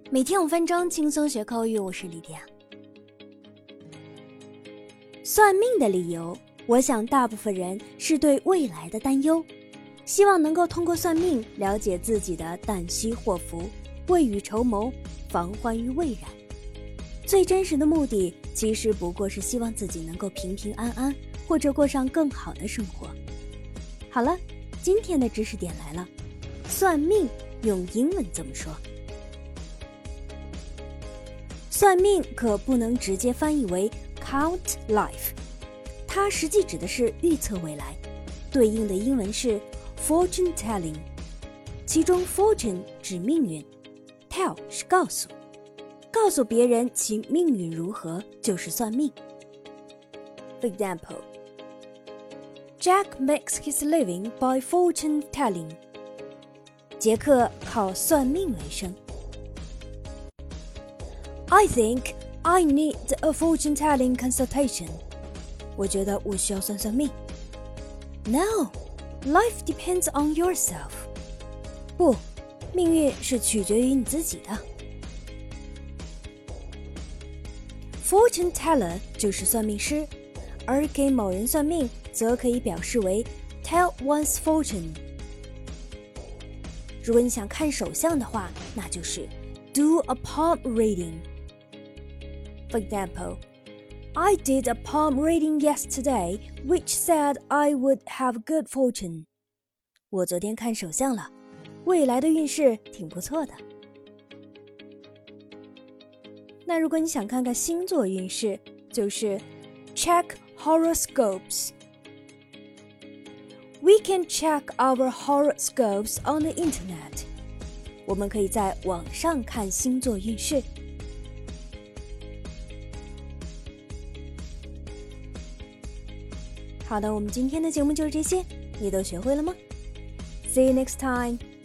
每天5分钟轻松学口语，我是莉迪亚。算命的理由，我想大部分人是对未来的担忧，希望能够通过算命了解自己的旦夕祸福，未雨绸缪，防患于未然。最真实的目的其实不过是希望自己能够平平安安，或者过上更好的生活。好了，今天的知识点来了，算命用英文怎么说？算命可不能直接翻译为 count life， 它实际指的是预测未来，对应的英文是 fortune telling， 其中 fortune 指命运， tell 是告诉，告诉别人其命运如何就是算命。 For example, Jack makes his living by fortune telling. 杰克靠算命为生。I think I need a fortune-telling consultation. 我觉得我需要算算命。No, life depends on yourself. 不，命运是取决于你自己的。Fortune teller 就是算命师，而给某人算命则可以表示为 tell one's fortune。如果你想看手相的话，那就是 do a palm reading。For example, I did a palm reading yesterday, which said I would have good fortune. 我昨天看手相了，未来的运势挺不错的。那如果你想看看星座运势，就是 check horoscopes. We can check our horoscopes on the internet. 我们可以在网上看星座运势。好的，我们今天的节目就是这些，你都学会了吗？ See you next time!